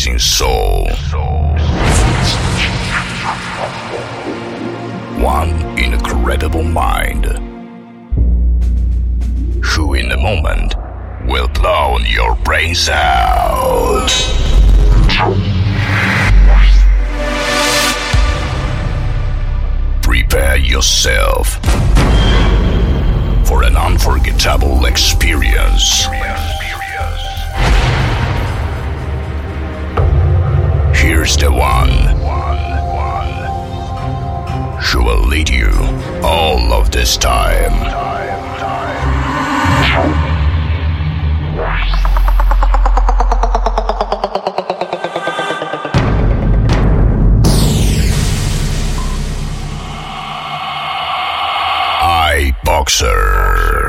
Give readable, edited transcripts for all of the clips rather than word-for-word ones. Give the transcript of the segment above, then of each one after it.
amazing soul. One incredible mind, who in a moment will blow your brains out. Prepare yourself for an unforgettable experience. Here's the one who will lead you all of this time. iBoxer.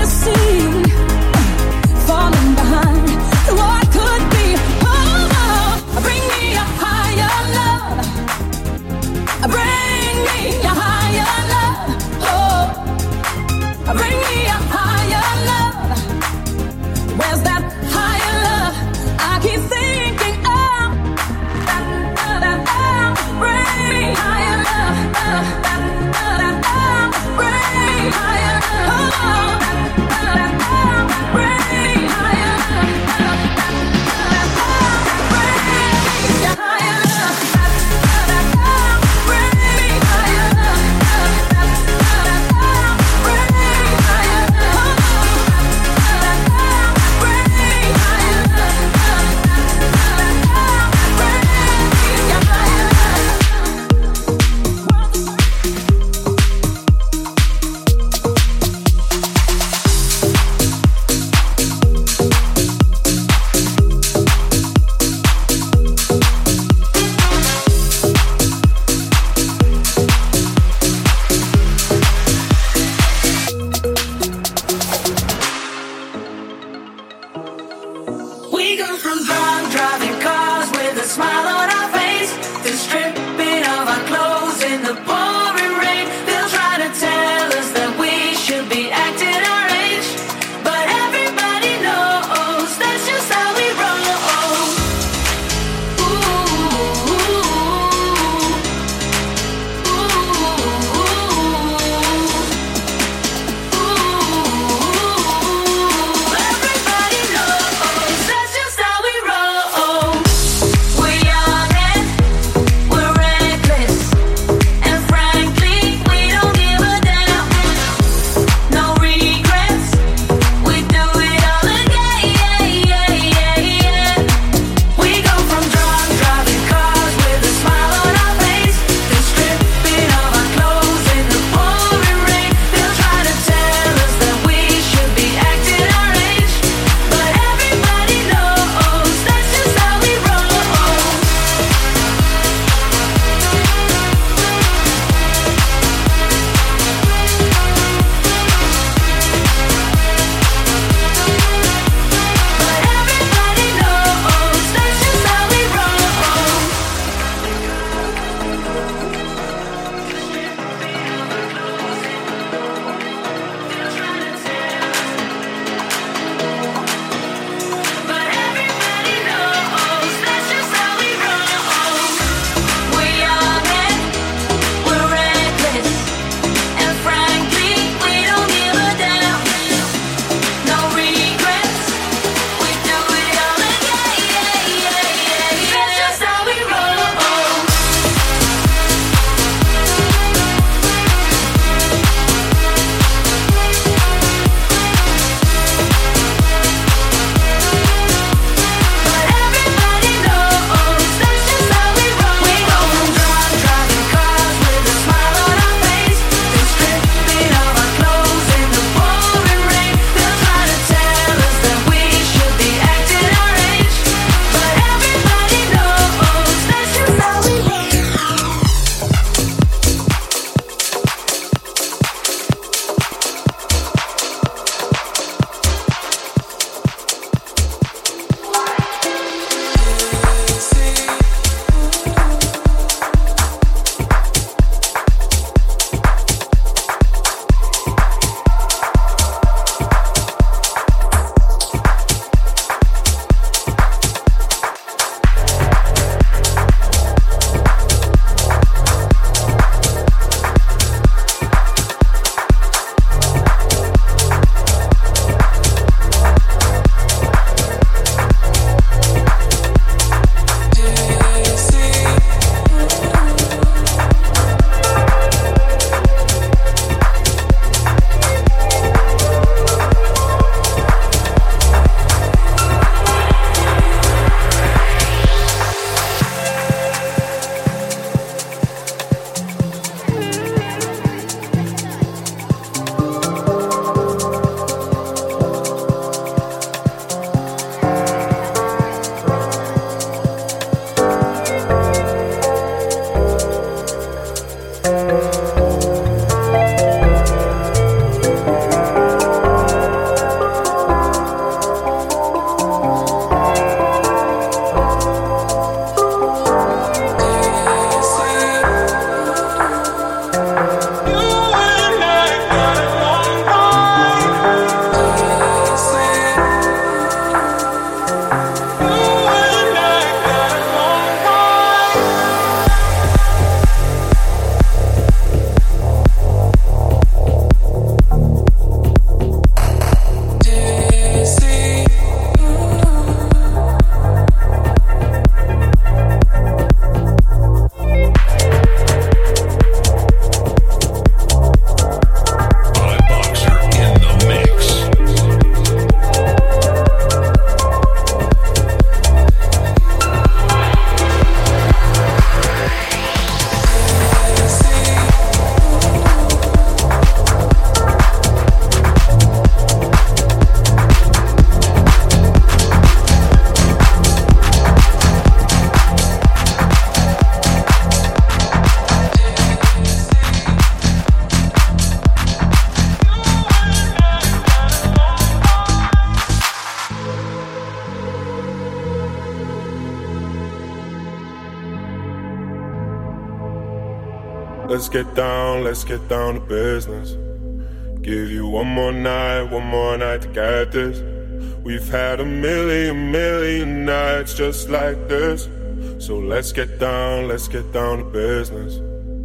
Higher love. let's get down to business. Give you one more night to get this. We've had a million nights just like this. So let's get down to business.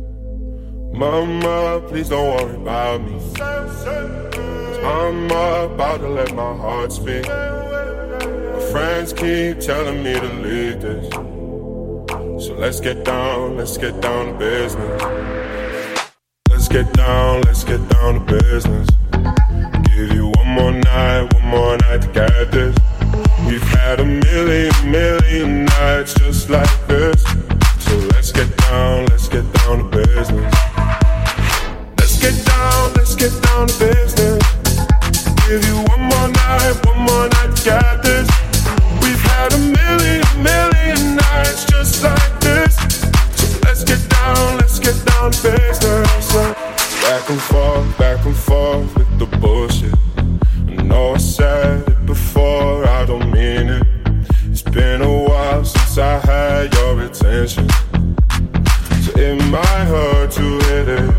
Mama, please don't worry about me, 'cause I'm about to let my heart speak. My friends keep telling me to leave this. So let's get down to business. Let's get down to business. Give you one more night to get this. We've had a million nights just like this. So let's get down to business. Let's get down to business. Give you one more night to get this. We've had a million nights just like this. So let's get down to business. Back and forth with the bullshit. I know I said it before, I don't mean it. It's been a while since I had your attention, so it might hurt to hit it.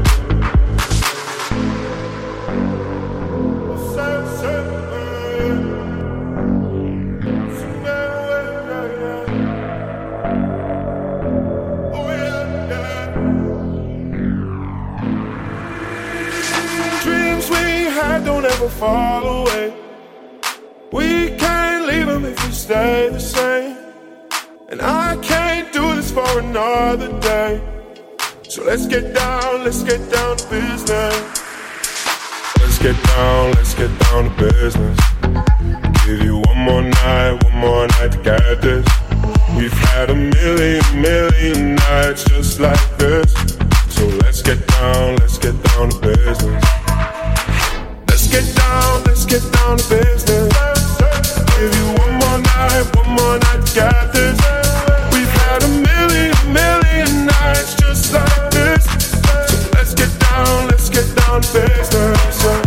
Don't ever fall away. We can't leave them if we stay the same. And I can't do this for another day. So let's get down to business. Let's get down to business. Give you one more night to get this. We've had a million nights just like this. So let's get down to business. Let's get down to business. Give you one more night to get this. We've had a million nights just like this. So let's get down to business.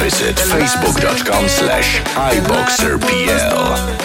visit facebook.com/iboxerpl.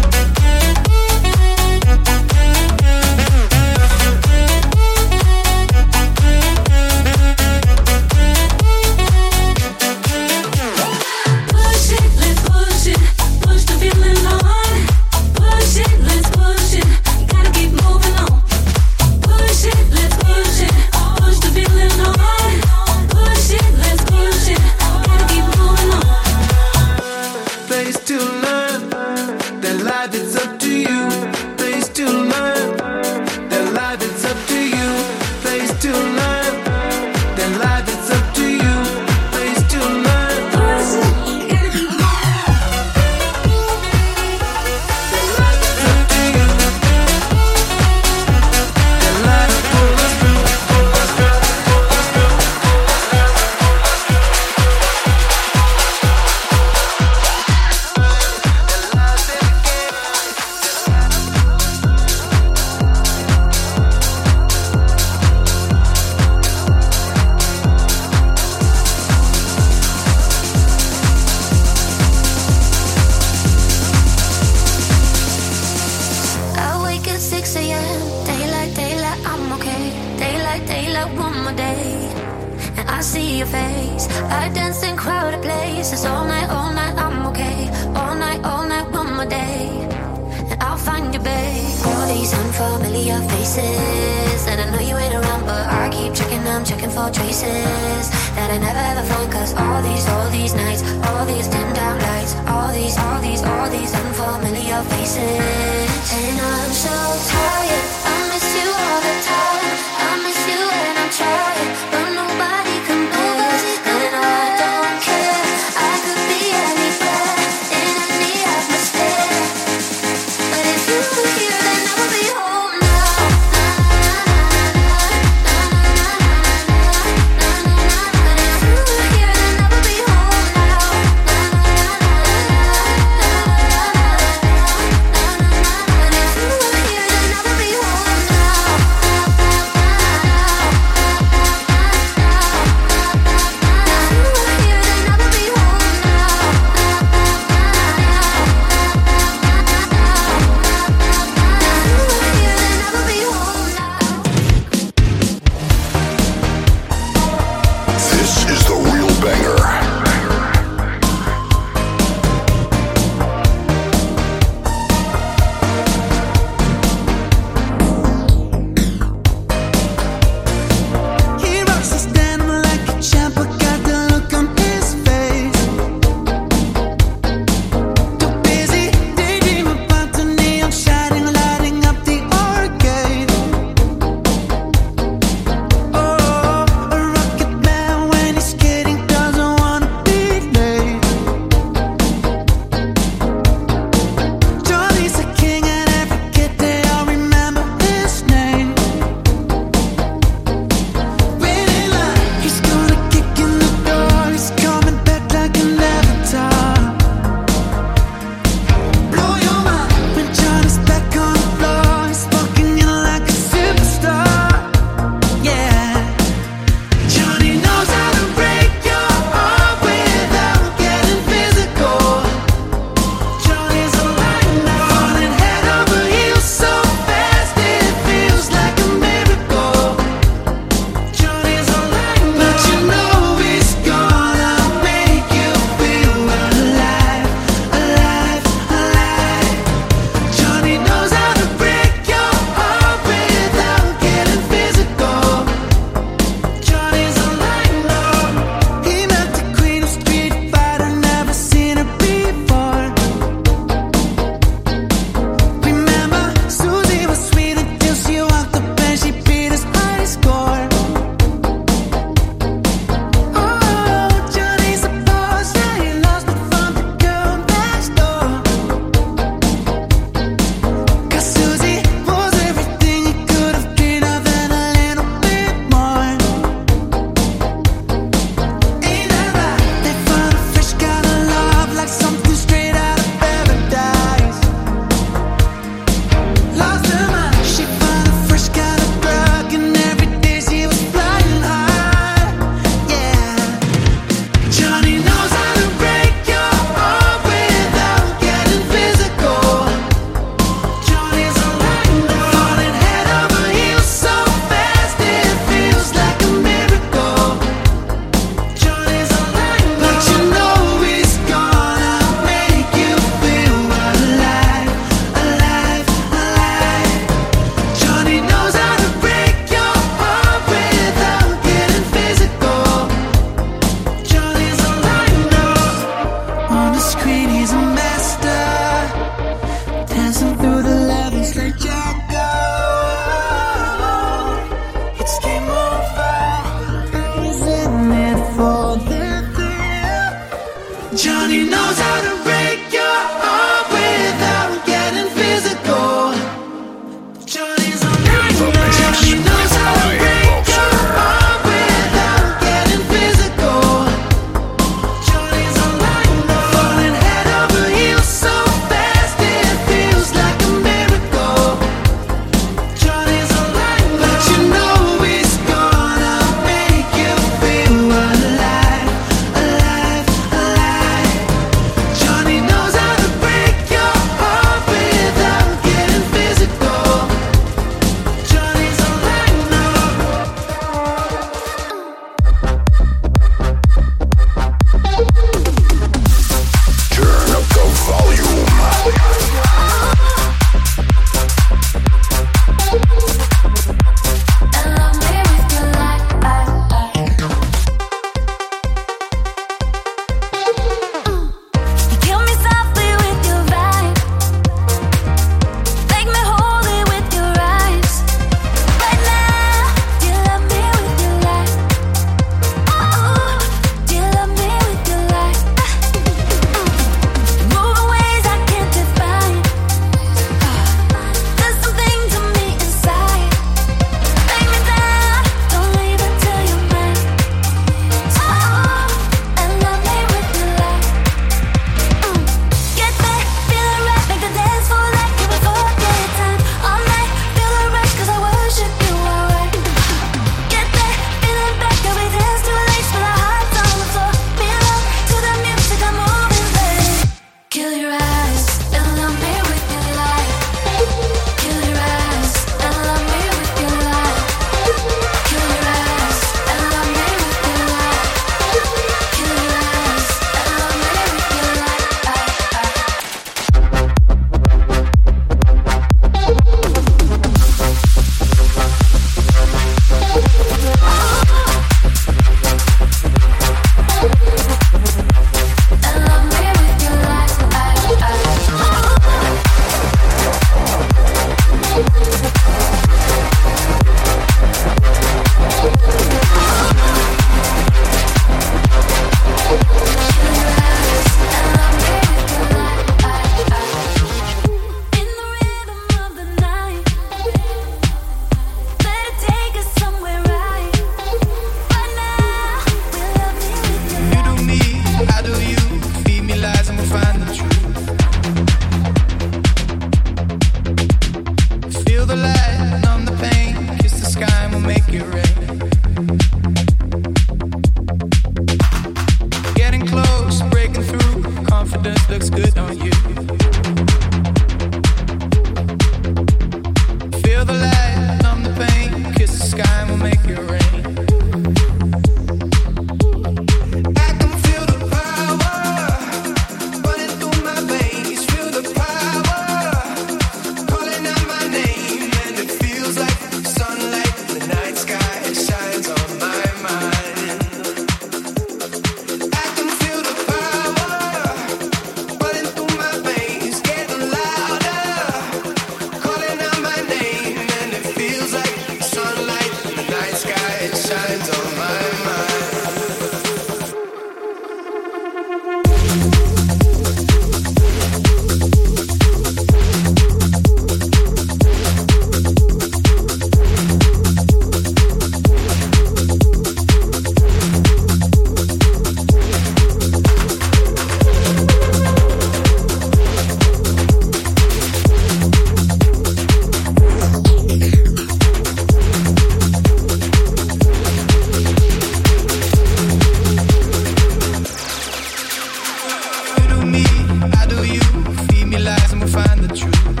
truth.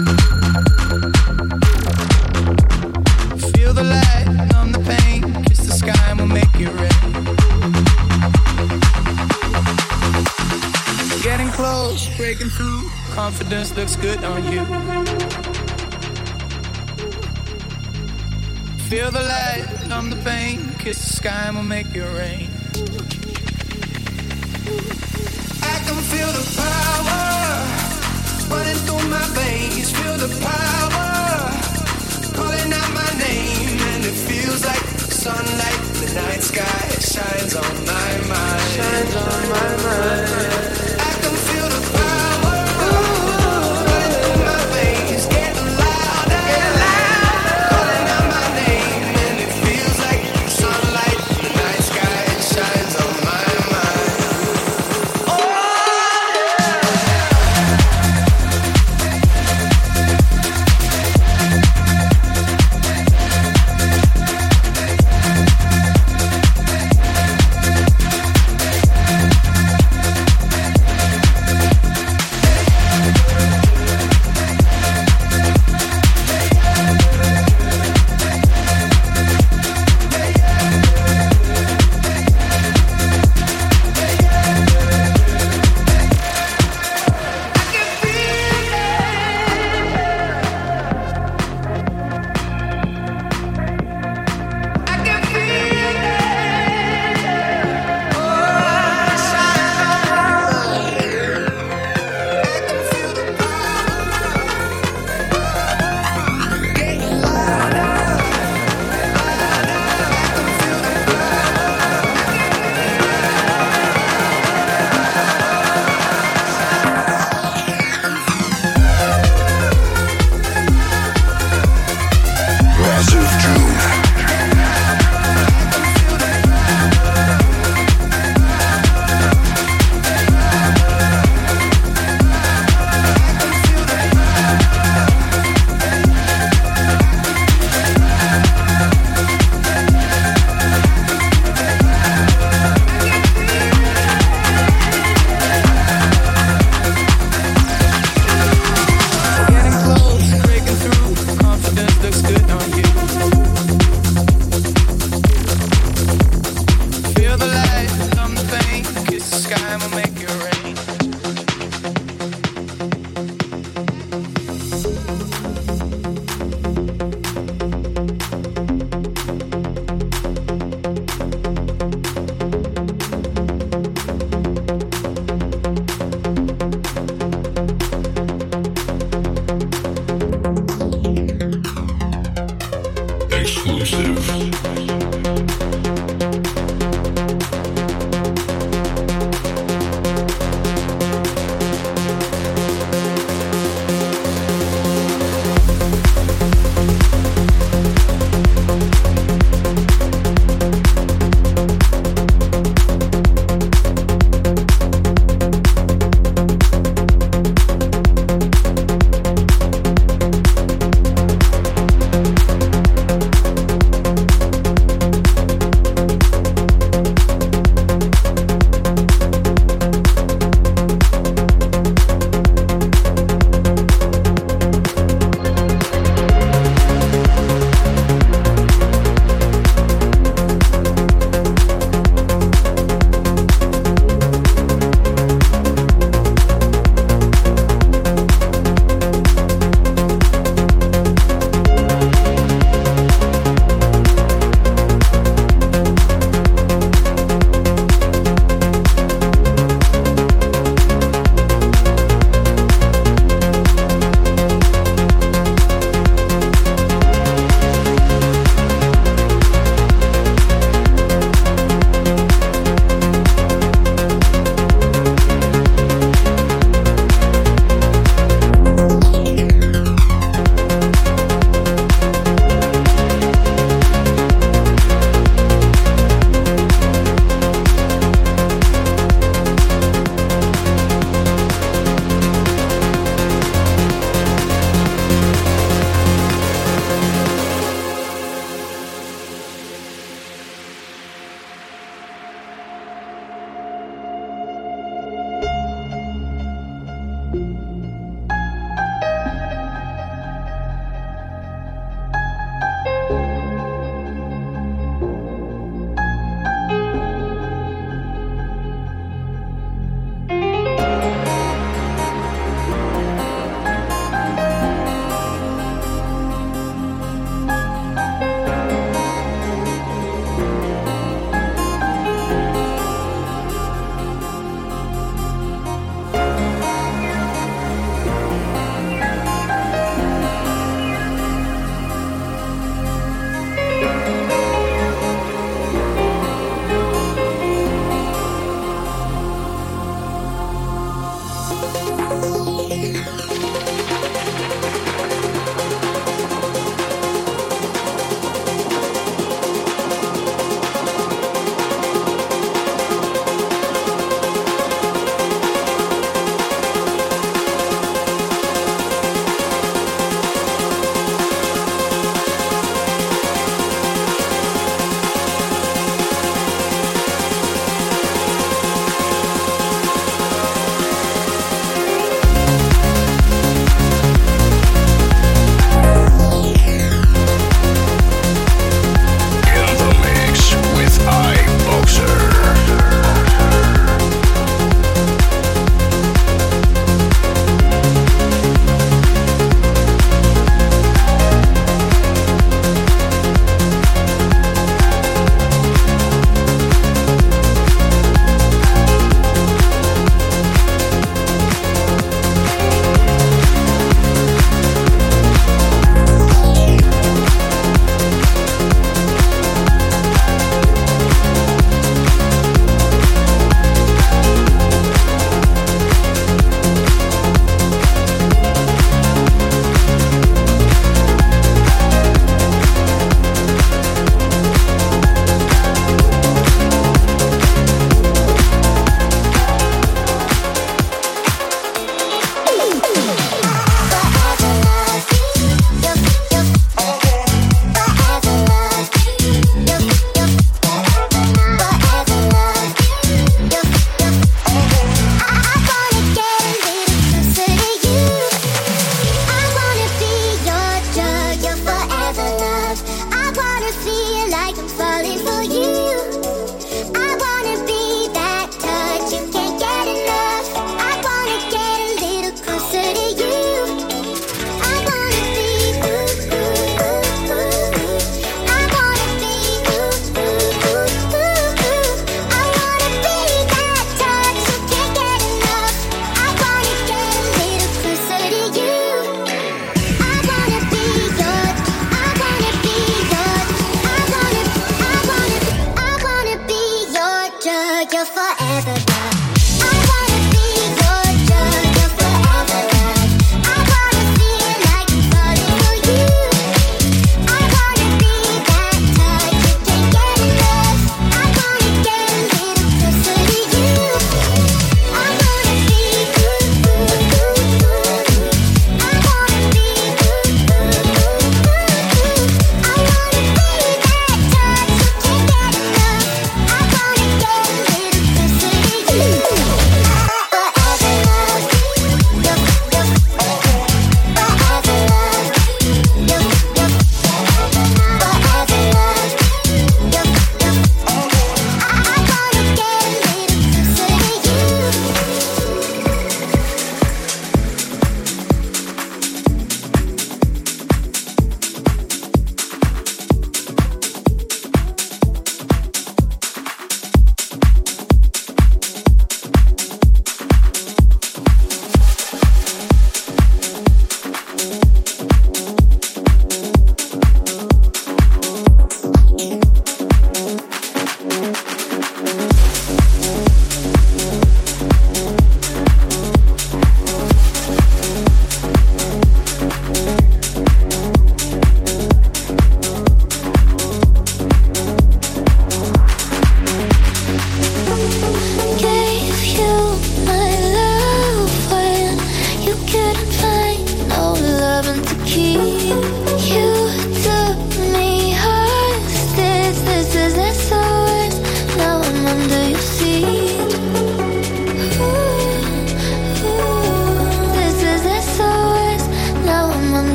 Feel the light, numb the pain, kiss the sky and we'll make it rain. Getting close, breaking through, confidence looks good on you. Feel the light, numb the pain, kiss the sky and we'll make it rain. I can feel the power running through my veins. Feel the power calling out my name, and it feels like sunlight in the night sky. It shines on my mind. Shines on my mind. I can feel the power running through my veins, getting louder, calling out my name, and it feels like sunlight in the night sky. It shines on my mind.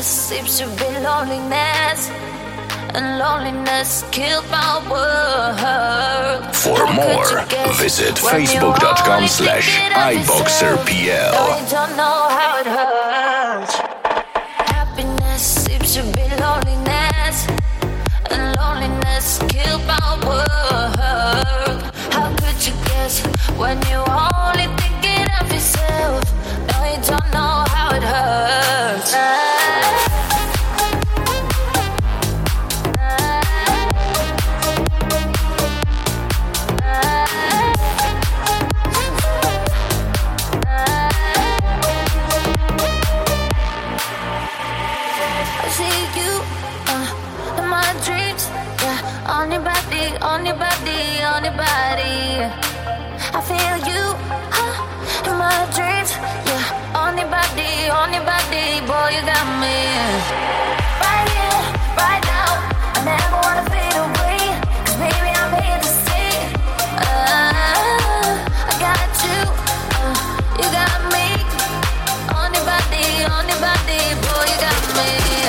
Happiness seems to be loneliness, and loneliness killed my world. For more, visit facebook.com/iboxerpl. No, you don't know how it hurts. Happiness seems to be loneliness, and loneliness killed my world. How could you guess when you're only thinking of yourself? No, you don't know how it hurts. On your body, on your body. I feel you in my dreams. Yeah, on your body, boy, you got me. Right here, right now. I never wanna fade away, 'cause baby, I'm here to stay. I got you, you got me. On your body, boy, you got me.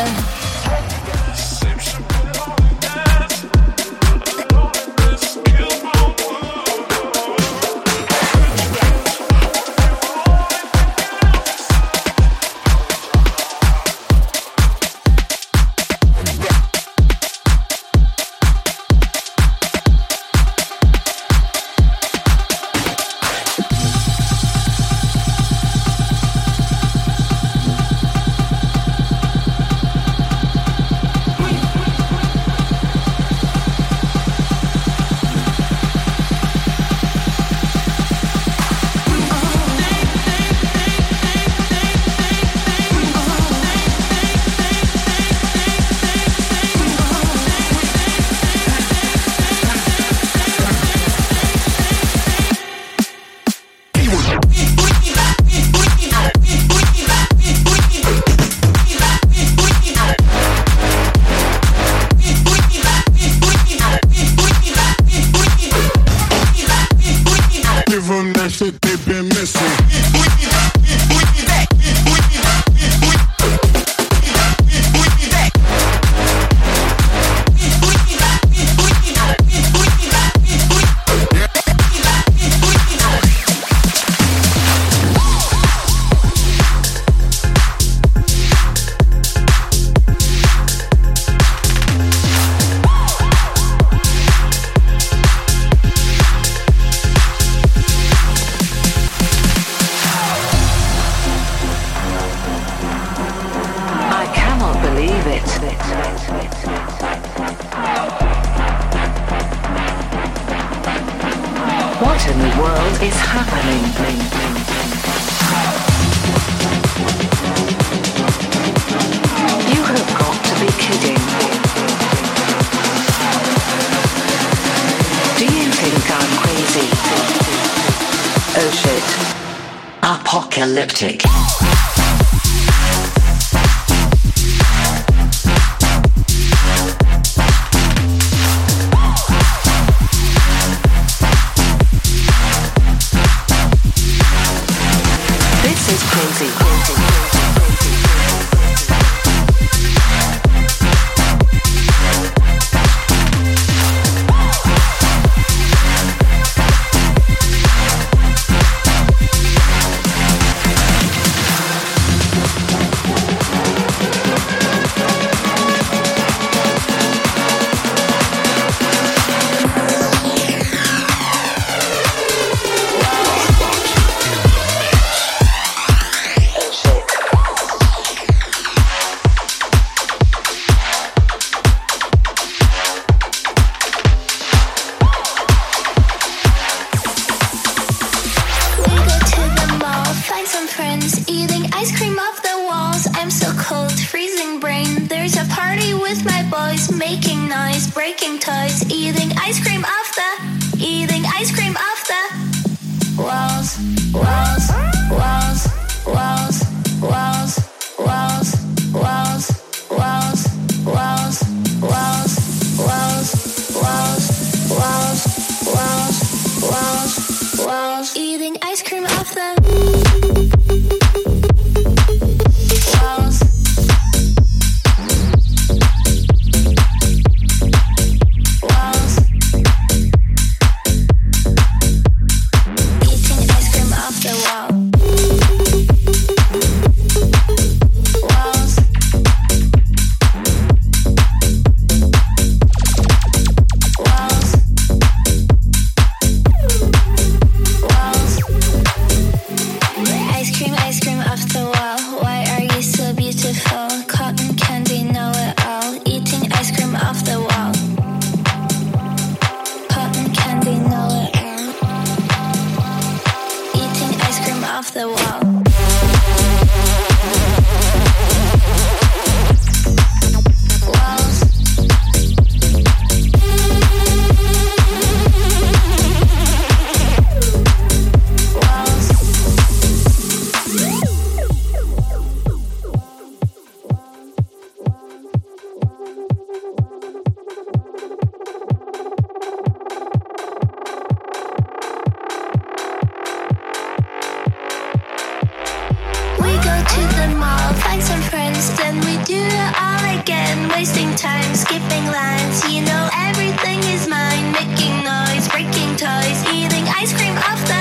What in the world is happening? You have got to be kidding. Do you think I'm crazy? Oh shit. Apocalyptic. to the mall, find some friends, then we do it all again. Wasting time, skipping lines, you know everything is mine. Making noise, breaking toys, eating ice cream off the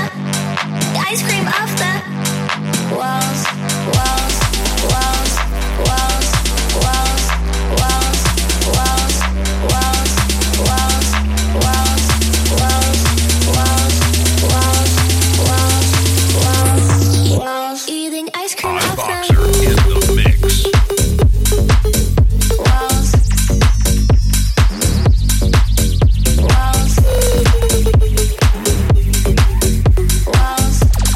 walls, walls, walls, walls, walls, walls, walls, walls, walls, walls, walls, walls, walls, walls, eating ice cream off the Boxer in the mix. walls, walls, walls.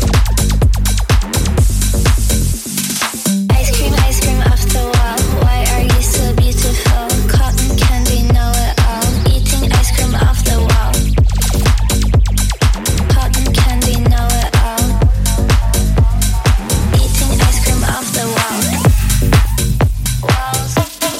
Ice cream off the wall. Why are you so beautiful? Cotton candy, know it all. Eating ice cream off the wall. Cotton candy, know it all. Eating ice cream off the wall. Walls.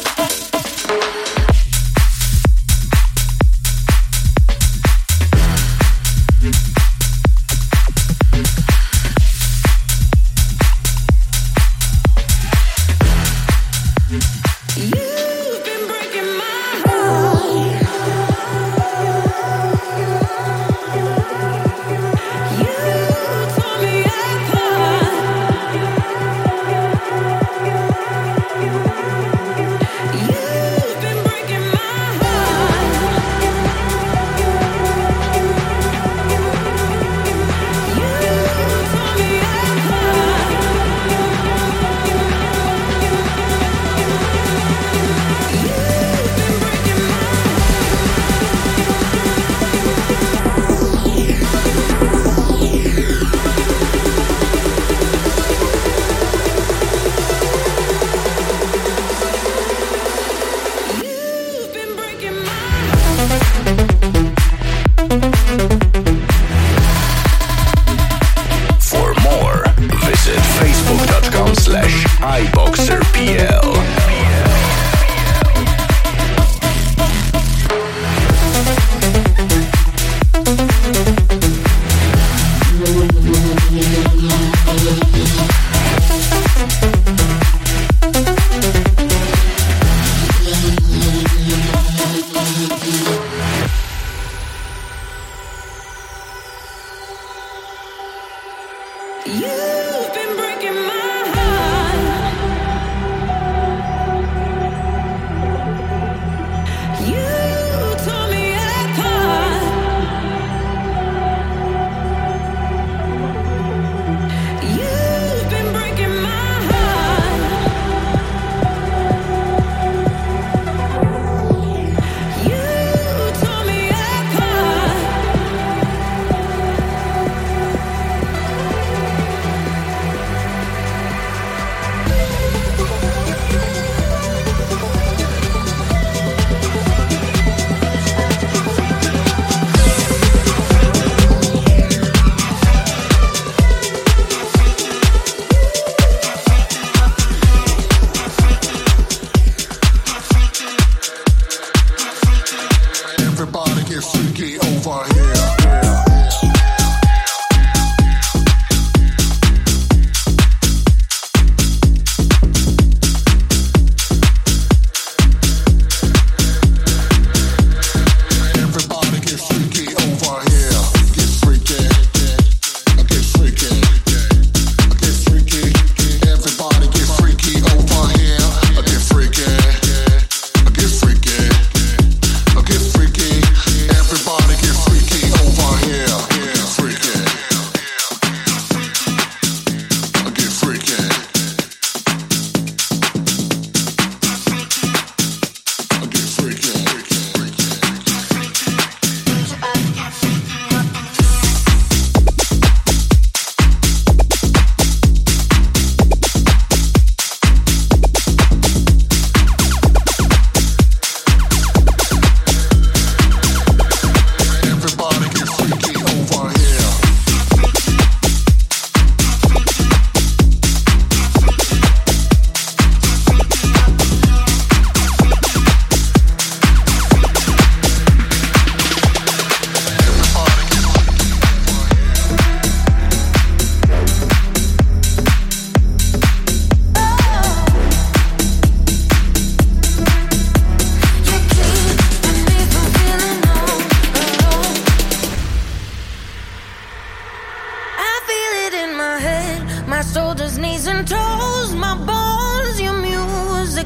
You've been breaking my heart. You tore me apart. You've been breaking my heart. You tore me apart. You've been breaking my For more, visit facebook.com/iBoxerPL. You've been breaking my heart.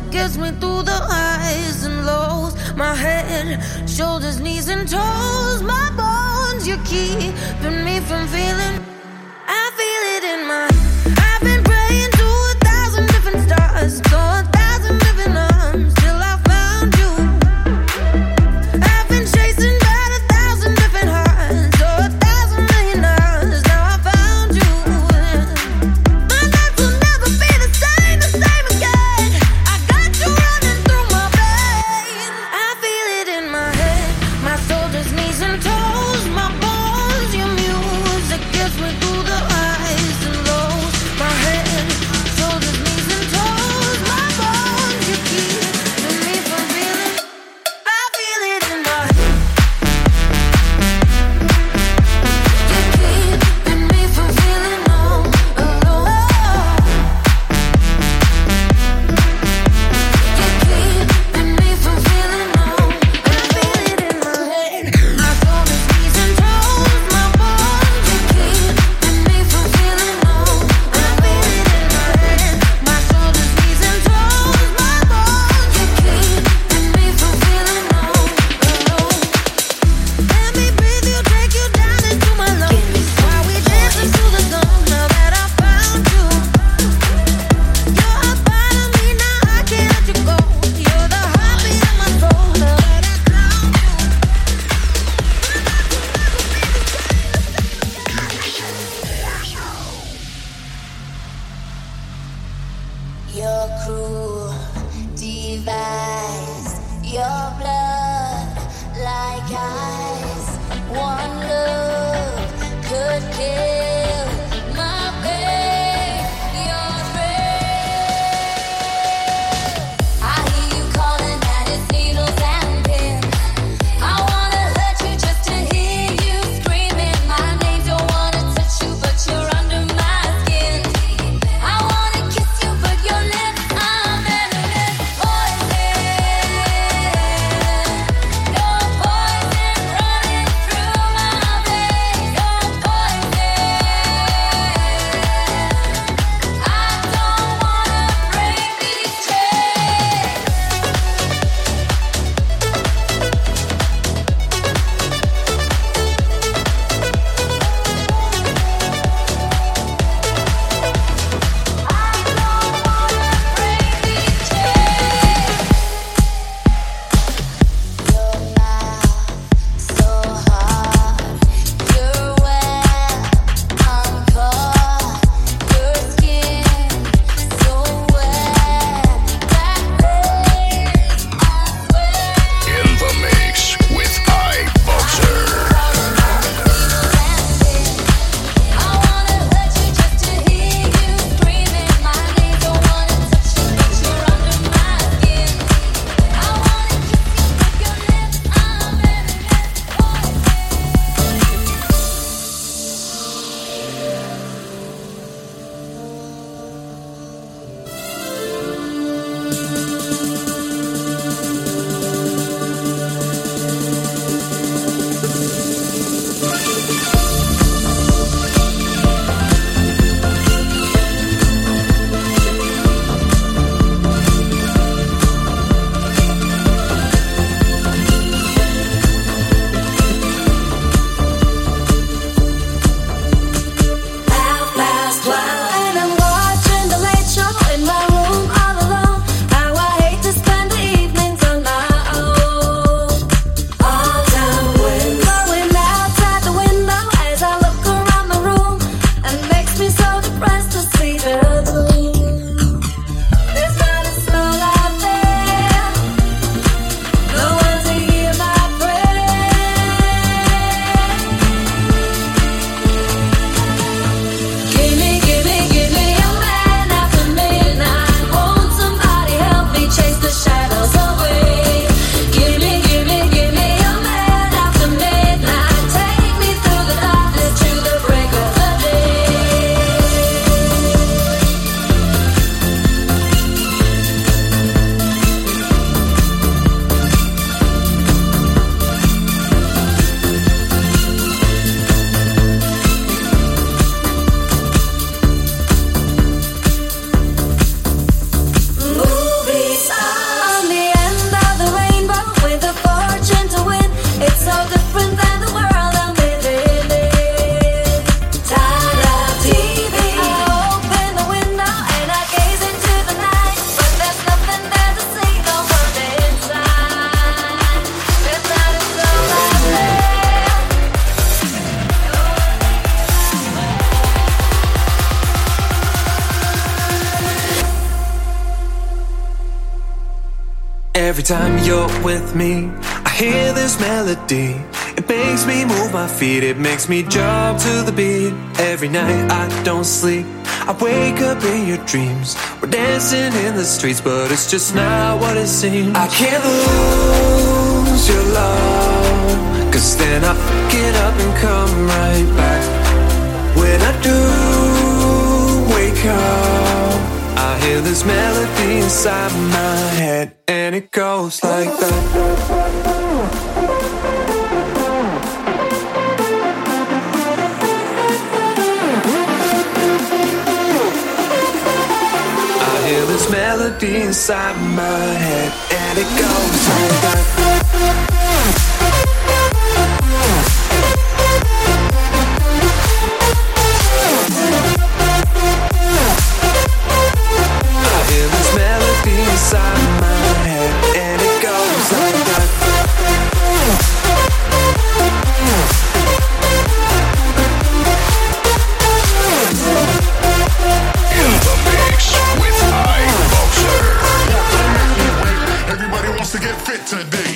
gets me through the highs and lows. My head, shoulders, knees and toes. My bones, you're keeping me from feeling. I feel it in my. I've been praying to 1,000 different stars, to 1,000 different arms, till I found you. I've been chasing about 1,000 different hearts, to 1,000 million hours. Now I found you. My life will never be the same again. I got you running through my veins. I feel it in my head, my shoulders, knees and toes, my bones. Your music gets me through the highs and lows. My head, shoulders, knees and toes, my bones. You keep me from feeling. I feel it in my head. You keeping me from feeling all alone. You keeping me from feeling all. I feel it in my head. My shoulders, knees and toes, my bones. You keeping me from feeling all. I feel it in my head. My shoulders, knees and toes, my bones. You keeping me from feeling all alone. Let me breathe you, take you down into my lungs. While we dancing to the song, now that I found you. You're a part of me, now I can't let you go. You're the heartbeat of my soul, now that I found you. Your cruel device, your blood like ice. One look could kill my pain. Your thrill. I hear you calling and it's needles and pins. I wanna hurt you just to hear you screaming my name. Don't wanna touch you, but you're under my skin. I wanna kiss you, but your lips are venomous poison. Your poison running through my veins. Your poison. I don't wanna break these chains. Your mouth so hard, you're wet, I'm caught. Your skin so wet, that pain, I swear. In the mix with iBoxer. I wanna hurt you just to hear you screaming my name. Don't wanna touch you, but you're under my skin. I wanna kiss you, but your lips are venomous poison. And I'm watching the late show in my room all alone. How I hate Every time you're with me, I hear this melody. It makes me move my feet, it makes me jump to the beat. Every night I don't sleep, I wake up in your dreams. We're dancing in the streets, but it's just not what it seems. I can't lose your love, 'cause then I pick it up and come right back. When I do wake up, I hear this melody inside my head, and it goes like that. I hear this melody inside my head, and it goes like that. Inside my head, and it goes like that. In the mix with iBoxer. Everybody wants to get fit today.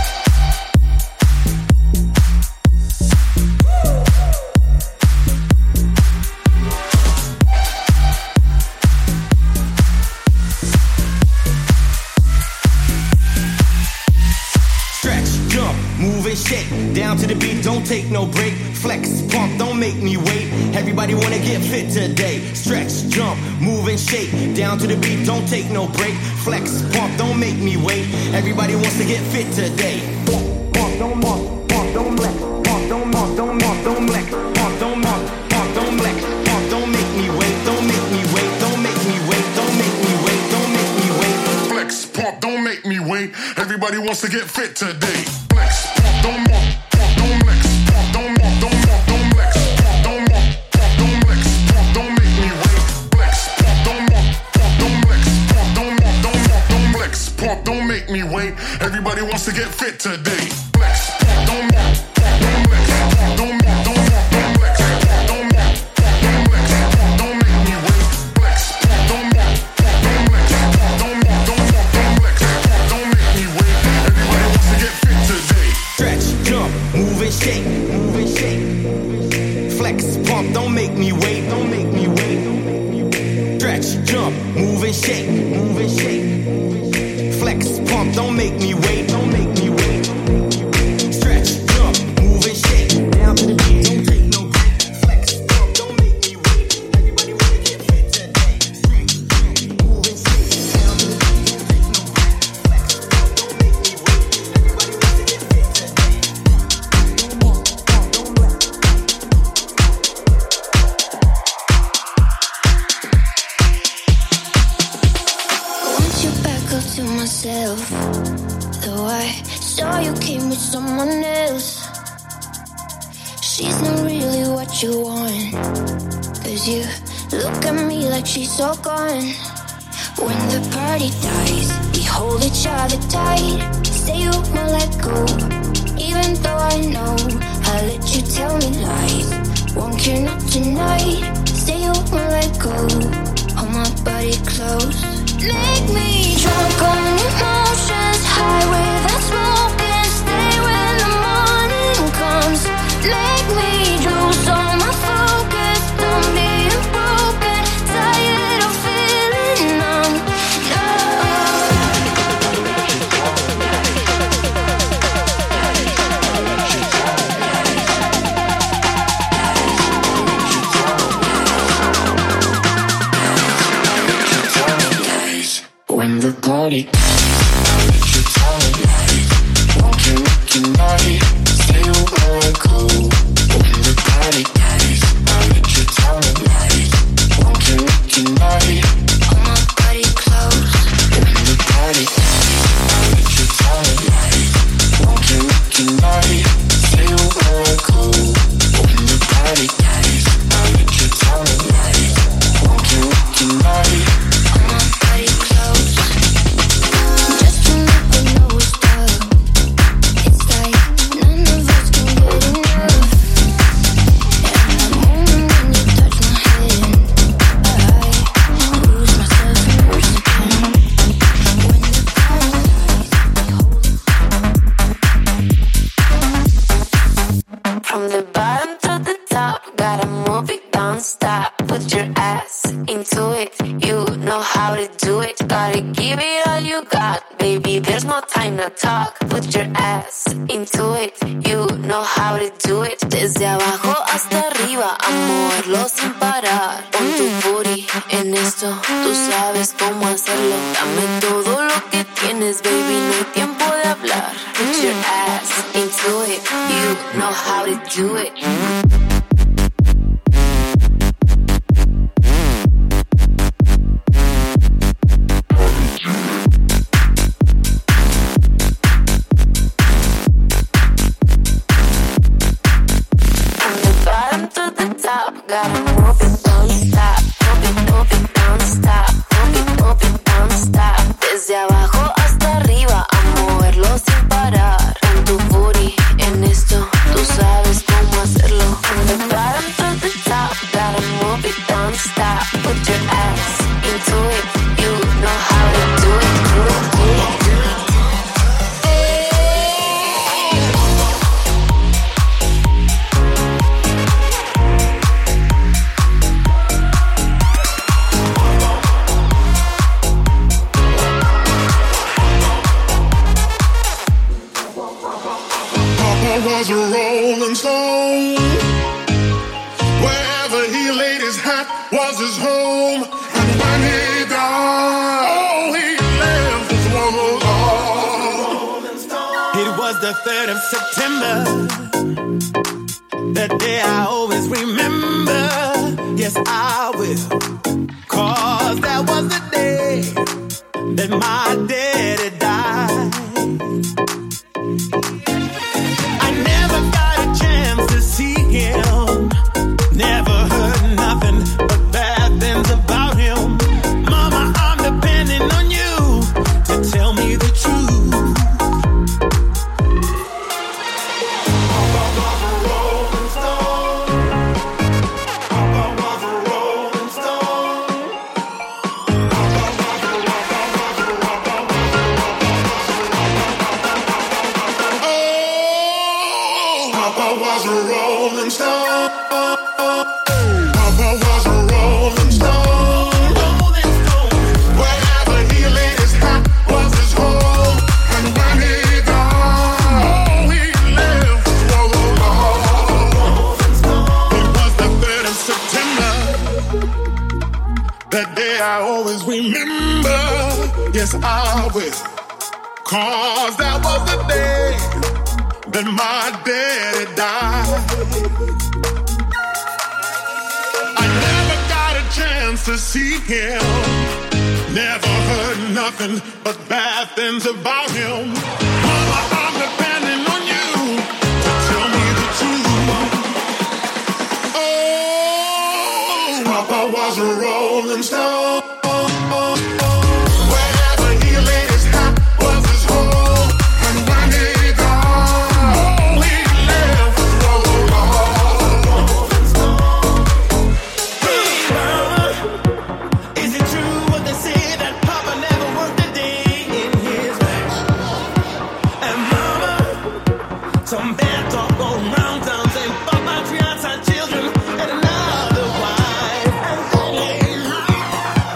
Down to the beat, don't take no break. Flex, pump, don't make me wait. Everybody wanna get fit today. Stretch, jump, move and shake. Down to the beat, don't take no break. Flex, pump, don't make me wait. Everybody wants to get fit today. Pump, don't mump, pump, don't flex. Pump, don't mump, don't mump, don't flex. Pump, don't mump, pump, don't flex. Pump, don't make me wait, don't make me wait, don't make me wait, don't make me wait, don't make me wait. Flex, pump, don't make me wait. Everybody wants to get fit today. Flex, pump, don't mump. Don't make me wait. Everybody wants to get fit today. Flex, don't flex, don't flex, don't flex, don't flex, don't make me wait. Flex, don't flex, don't flex, don't make me wait. Everybody wants to get fit today. Stretch, jump, move and shake, move and shake. Flex, pump, don't make me wait, don't make me wait. Stretch, jump, move and shake, move and shake. Flex, pump, don't make me wait, don't make me wait. Stretch, jump, move and shake. Down to the beat, don't take no break. Flex, pump, don't make me wait. Everybody wanna get fit today. Stretch, jump, move and shake. Down to the beat, don't take no break. Flex, pump, don't make me wait. Everybody wanna get fit today. Don't move, pump, don't flex. To myself, though I saw you came with someone else. She's not really what you want, 'cause you look at me like she's all gone. When the party dies, we hold each other tight. Say you won't let go, even though I know I let you tell me lies. Won't care not tonight. Say you won't let go. Hold my body close. Make me drunk on emotions, high without smoking. Stay when the morning comes. Make me lose all my focus. Don't be broken, tired of feeling numb. When the party how to do it. Gotta give it all you got, baby. There's no time to talk. Put your ass into it. You know how to do it. Desde abajo hasta arriba, a moverlo sin parar. Pon tu booty en esto, tú sabes cómo hacerlo. Dame todo lo que tienes, baby. No hay tiempo de hablar. Put your ass into it. You know how to do it. Gotta move it, don't stop. Move it, don't stop. Move it, don't stop. Desde abajo hasta arriba, a moverlo sin parar. Pon tu booty en esto, tú sabes cómo hacerlo. From the bottom to the top, gotta move it, don't stop. Put your ass into it, you know how to do it. Was a rolling stone. Wherever he laid his hat was his home. And when he died, all he left was rolling stone. It was the 3rd of September, that day I always remember. Yes, I will, 'cause that was the day that my daddy died. Him. Never heard nothing but bad things about him. Mama, I'm depending on you to tell me the truth. Papa was a rolling stone. Papa was a rolling stone. Papa was a rolling stone. Papa was a rolling stone. Rolling stone. Wherever he laid his hat was his home. And when he died, all he left was a rolling stone. It was the 3rd of September, that day I always remember. Yes, I will, 'cause that was the day that my daddy died. I never got a chance to see him. Never heard nothing but bad things about him. Mama, I'm depending on you to tell me the truth. Oh, Papa was a rolling stone. Wherever he laid his hat was his home. And when he some bad talk going round town saying fuck my fiance and children and another wife. And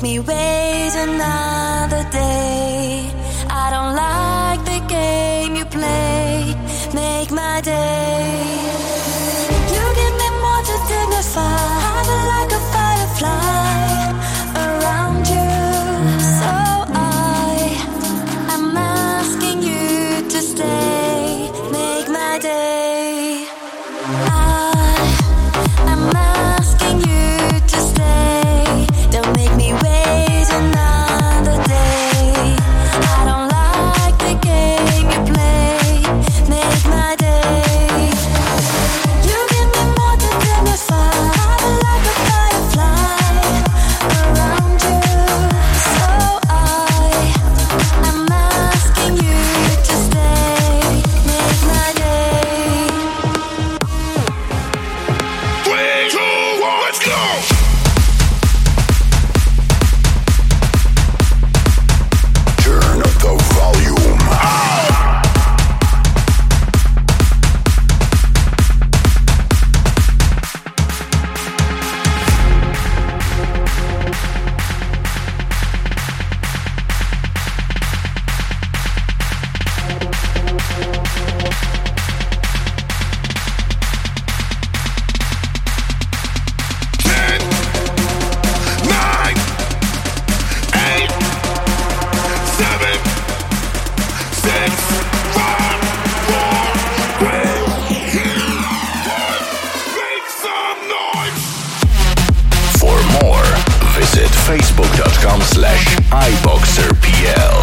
me wait another day. I don't like the game you play. Make my day. You give me more to dignify. I feel like a firefly around you. So I'm asking you to stay. Make my day. I'm asking you to stay. Don't make me wait another day. I don't like the game you play. Make my day. You give me more to dignify. I feel like a firefly around you. So I'm asking you to stay. Make my day. 3, 2, 1, let's go! Turn up the volume. For more, visit facebook.com/iboxerpl.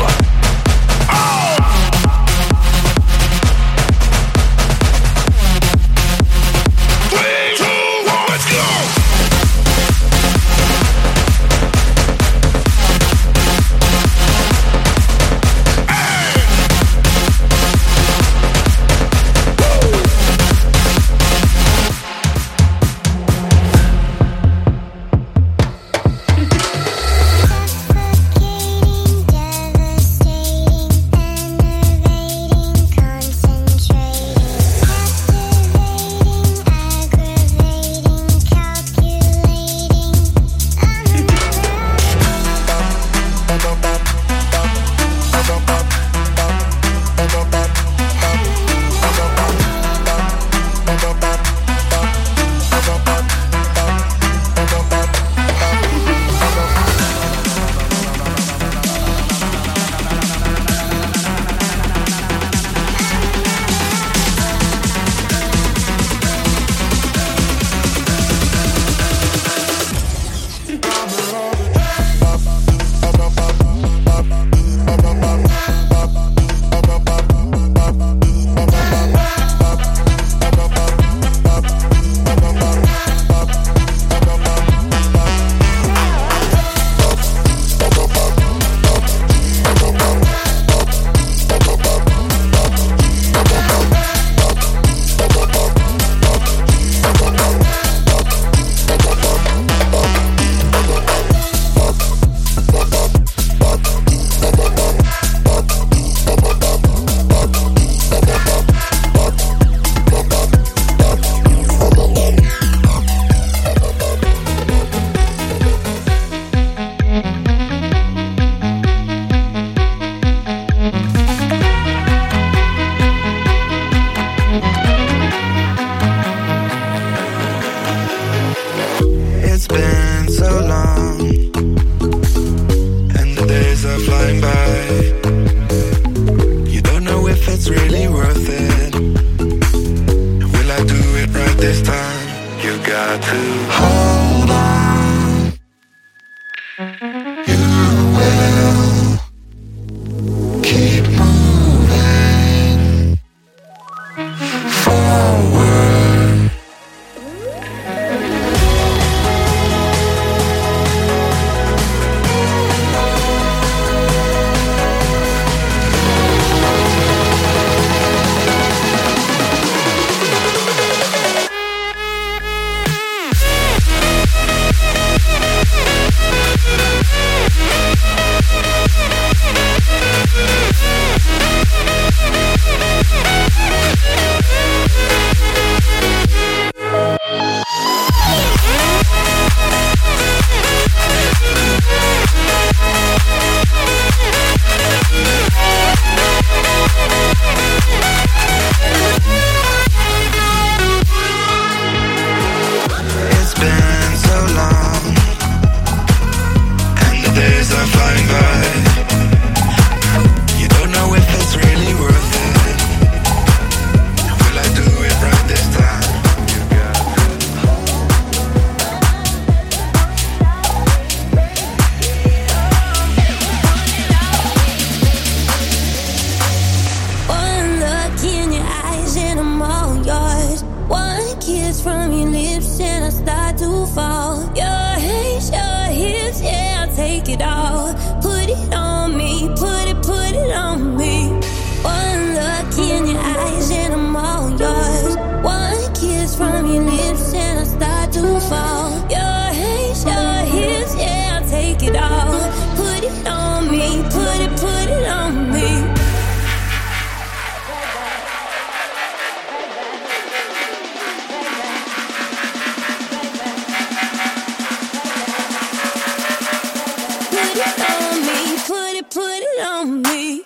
kiss from your lips and I start to fall. Your hands, your hips, yeah, I'll take it all. Put it on me, put it on me. One look in your eyes and I'm all yours. One kiss from your lips and I start to fall. Your hands, your hips, yeah, I'll take it all. Put it on me, put it on me. Put it on me.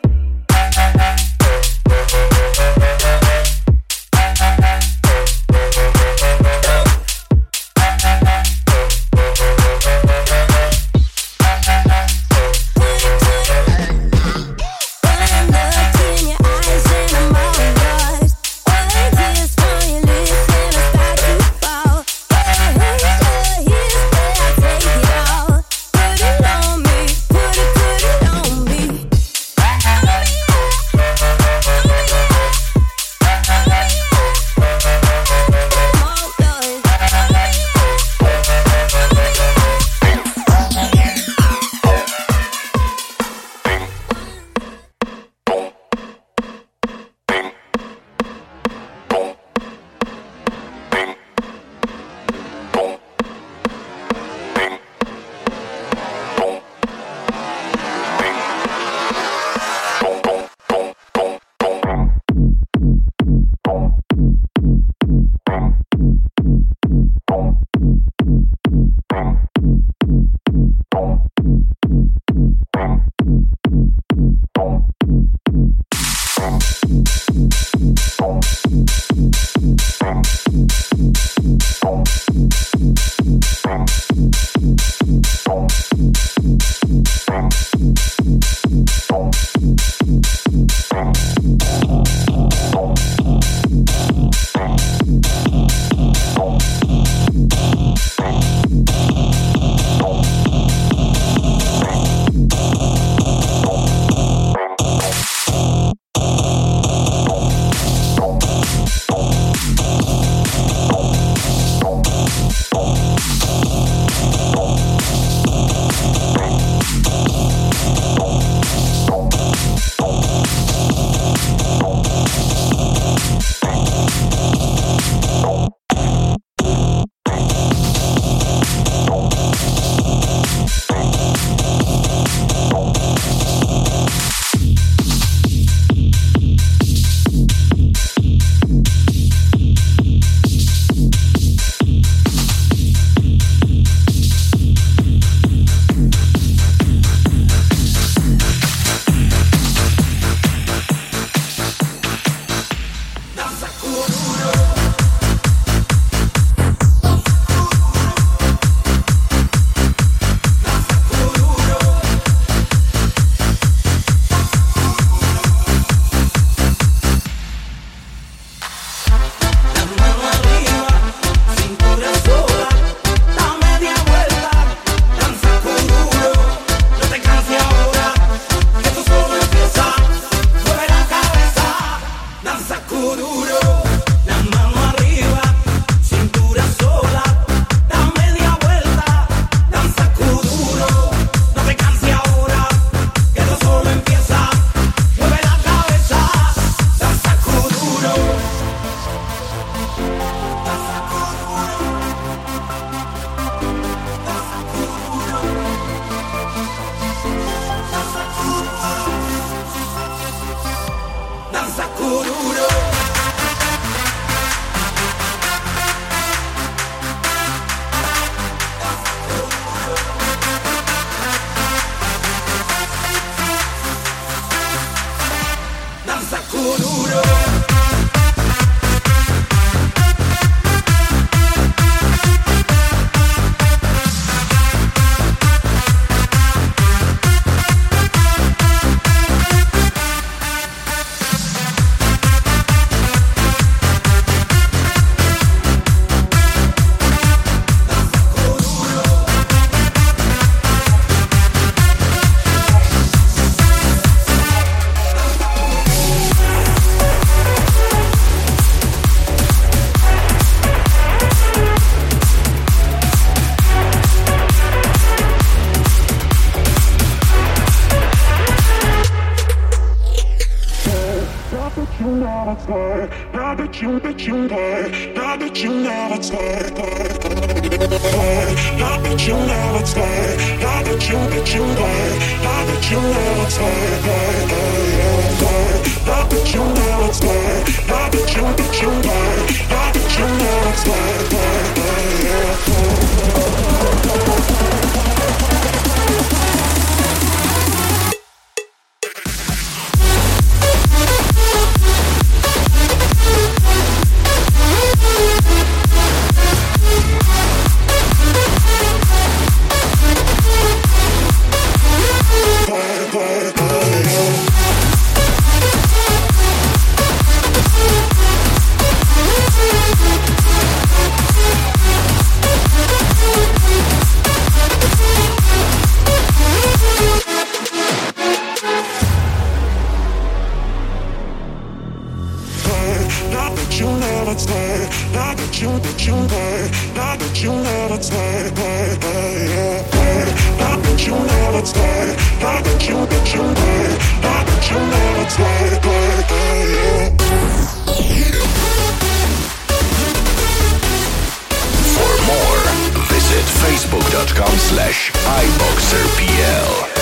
Facebook.com/iboxerpl.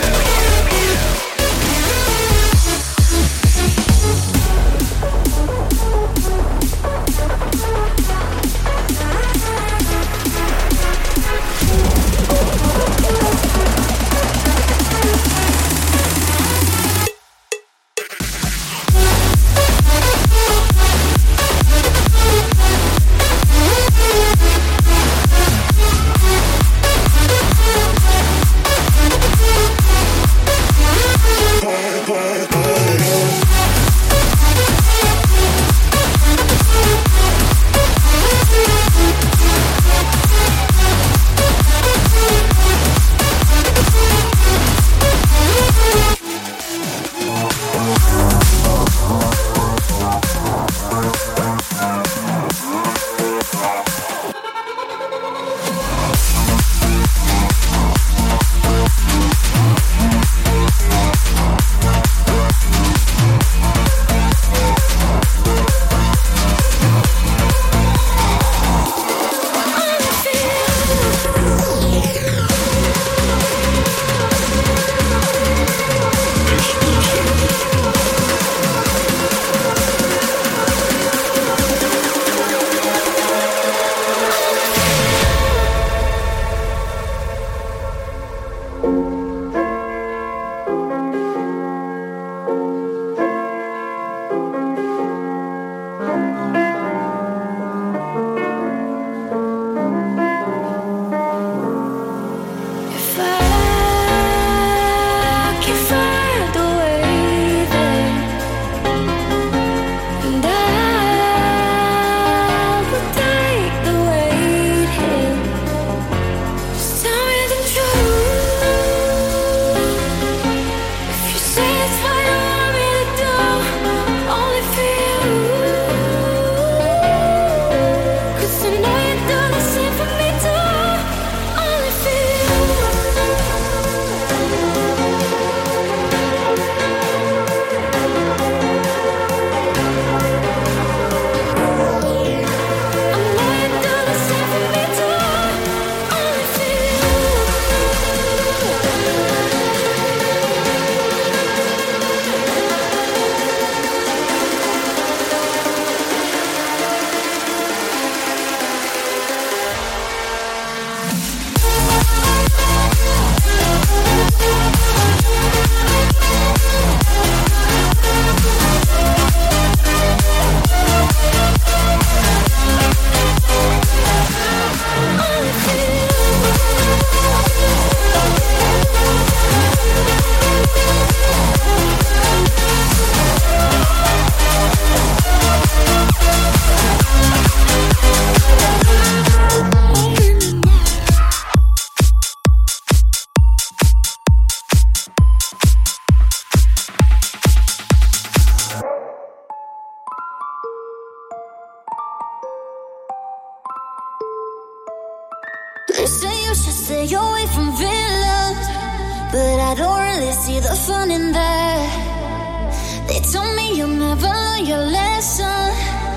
They say you should stay away from villains, but I don't really see the fun in that. They told me you'll never learn your lesson,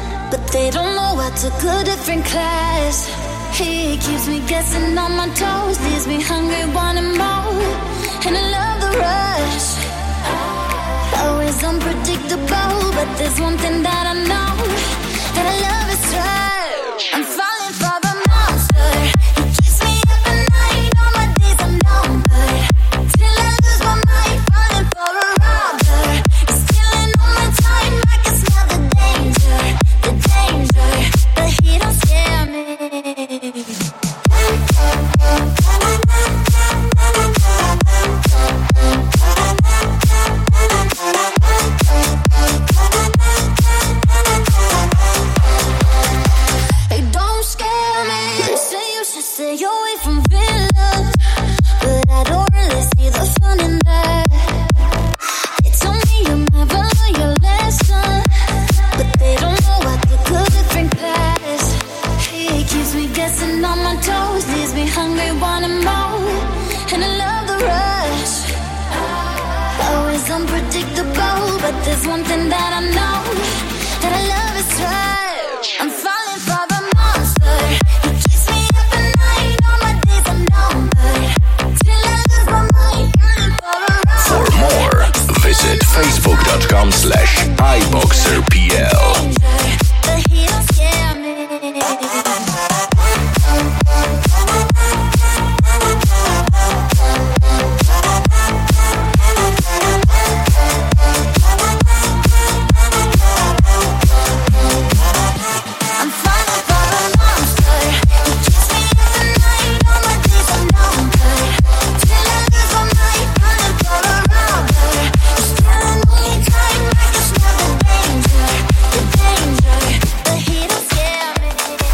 they don't know I took a different class. He keeps me guessing on my toes, leaves me hungry, wanting more. And I love the rush, always unpredictable. But there's one thing that I know, that I love is rush. I'm falling for the monster. He keeps me up at night, all my days are numbered. Till I lose my mind, falling for a robber. He's stealing all my time, I can smell the danger. But he don't scare me. They don't scare me. They say you should stay away from villains, but I don't really see the fun in that. They told me you'll never learn your lesson, but they don't know I took a different class. He keeps me guessing on my toes, leaves me hungry, wanting more. And I love the rush, always unpredictable. But there's one thing that I know, that I love is rush. I'm falling for the monster. He keeps me up at night, all my days are numbered. Till I lose my mind, falling for a ride. For more, visit facebook.com/iboxerpl. But he don't scare me. I'm falling for a monster. He keeps me up at night, all my days are numbered. Till I lose my mind, falling for a robber. He's stealing all my time, I can smell the danger. But he don't scare me.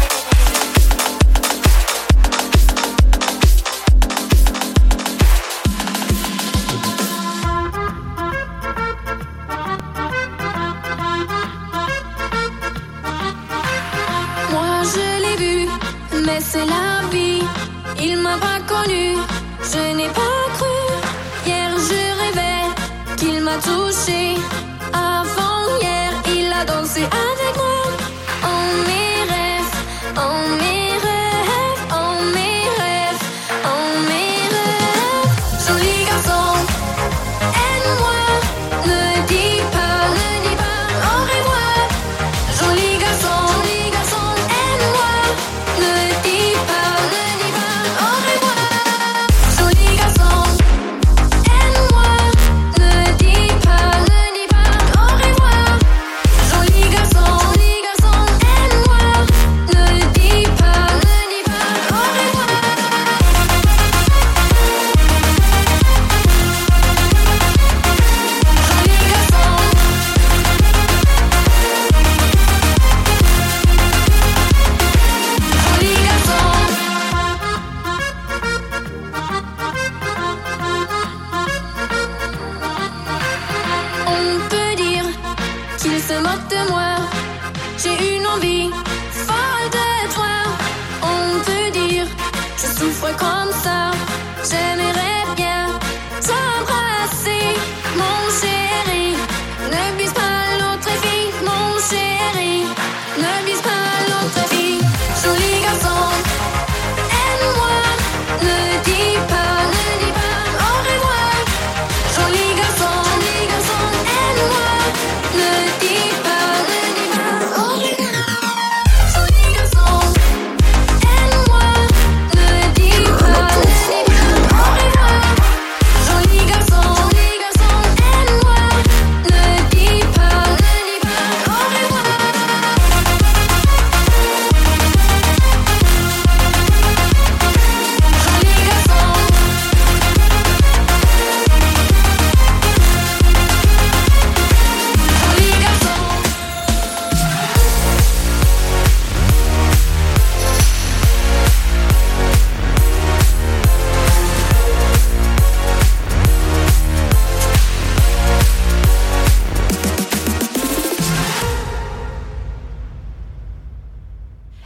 Moi je l'ai vu, mais c'est la vie. Il m'a pas connu, je n'ai pas cru. Hier je rêvais qu'il m'a touché. Avant hier, il a dansé avec moi. En mes rêves, en mes rêves, en mes rêves, en mes rêves. Joli garçon, aide-moi, ne dis pas, aurez-moi. Joli garçon, aide-moi, ne dis pas, aurez-moi. Joli garçon, aide-moi, ne dis pas, aurez-moi. Joli garçon,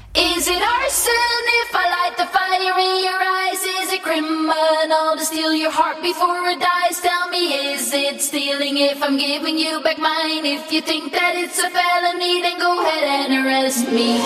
Is it arson if I light the fire in your eyes? Is it criminal to steal your heart before it dies? Tell me, is it stealing if I'm giving you back mine? If you think that it's a felony, then go ahead and arrest me.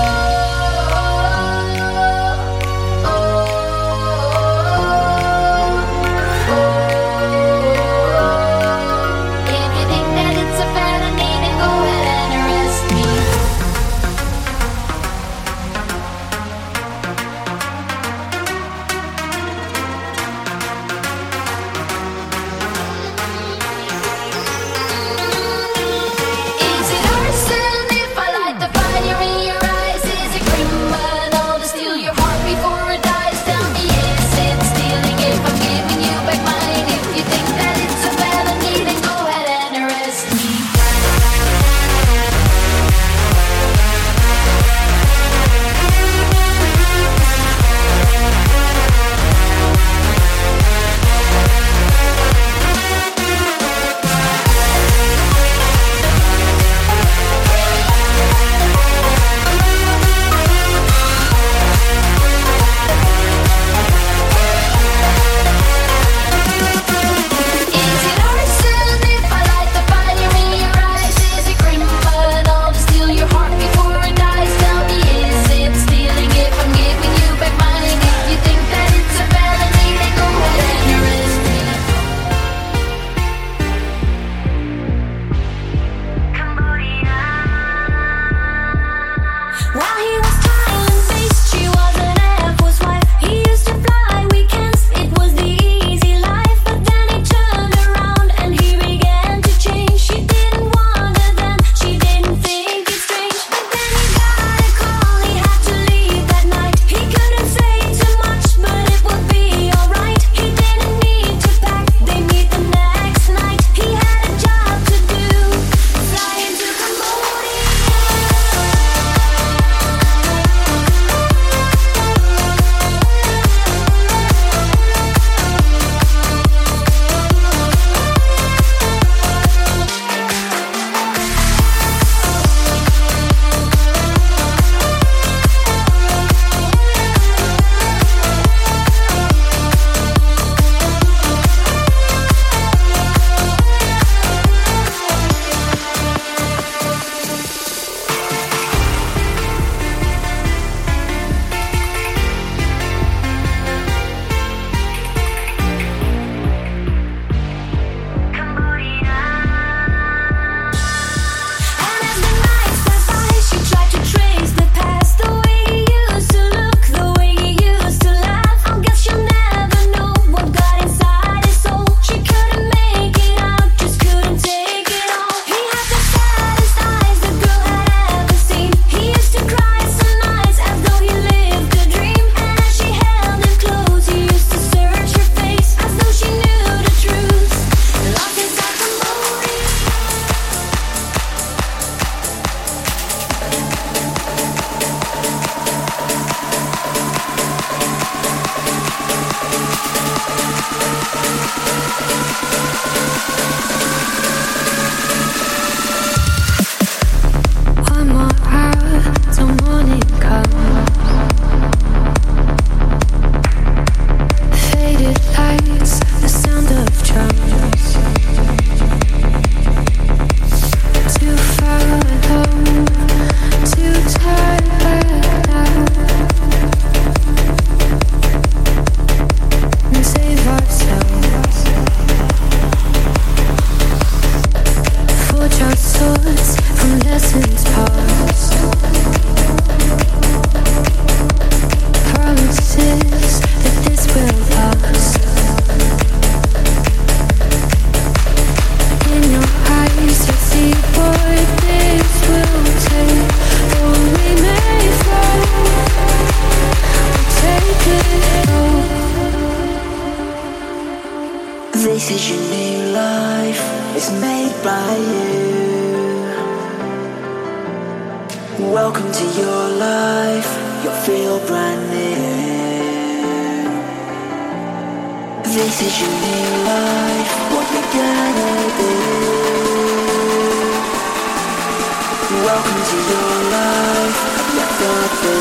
This is your new life, it's made by you. Welcome to your life, you'll feel brand new. This is your new life, what you gonna do? Welcome to your life, you've got this.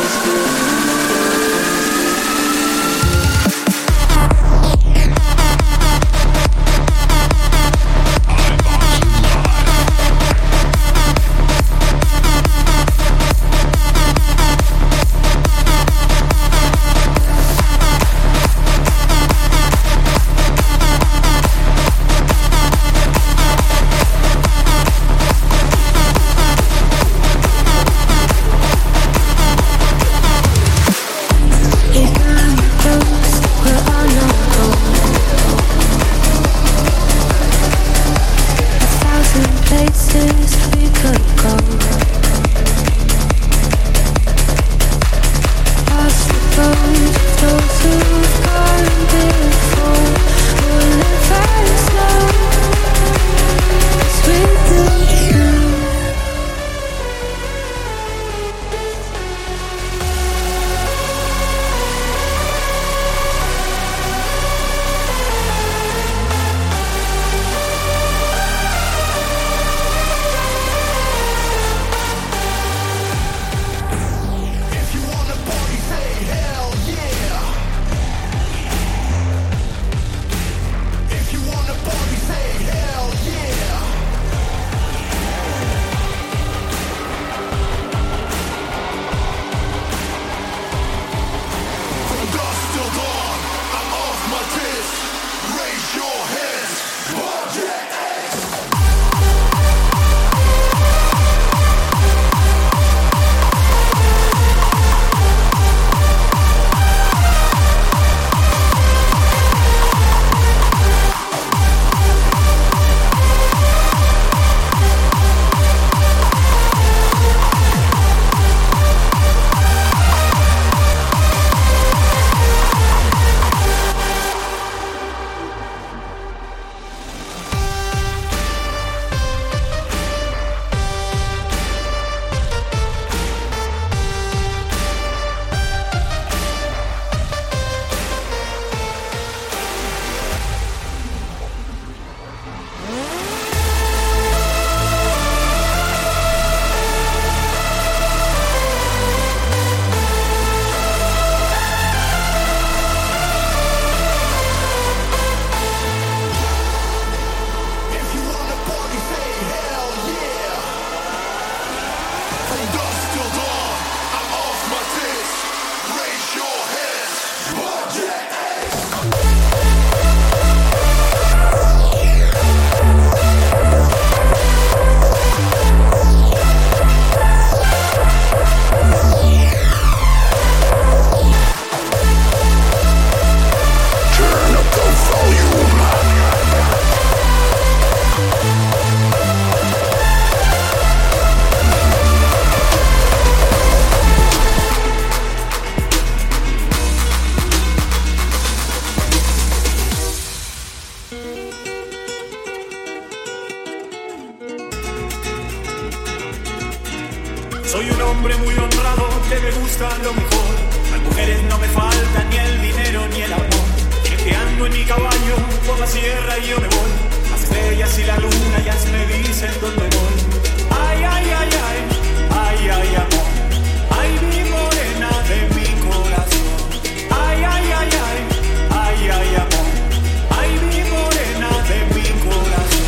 busca lo mejor. Las mujeres no me faltan, ni el dinero ni el amor. Ando en mi caballo por la sierra y yo me voy. Las estrellas y la luna ya me dicen dónde voy. Ay, ay, ay, ay, ay, ay, amor. Ay, mi morena de mi corazón. Ay, ay, ay, ay, ay, ay, amor. Ay, mi morena de mi corazón.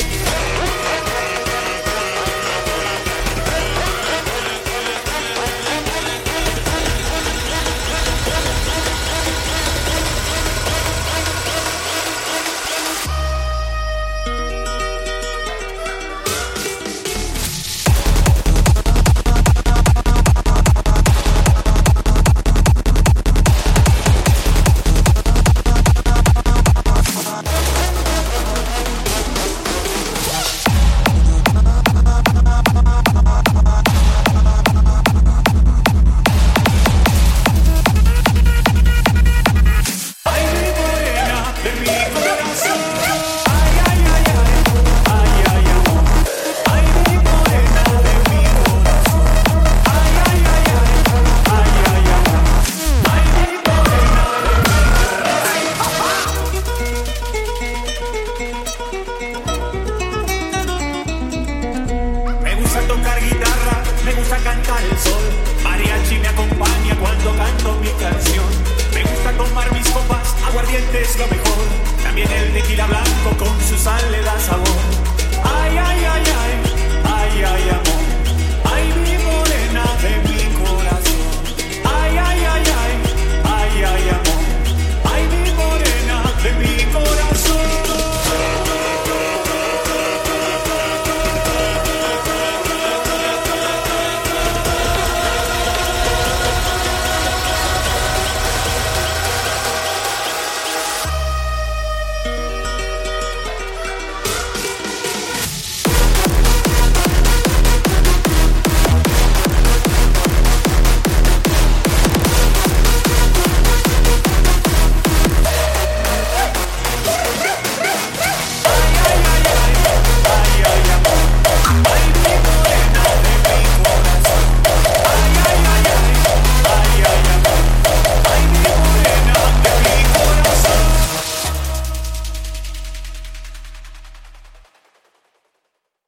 Es lo mejor, también el tequila blanco con su sal le da sabor. Ay, ay, ay, ay, ay, ay, amor. Ay, mi morena de mi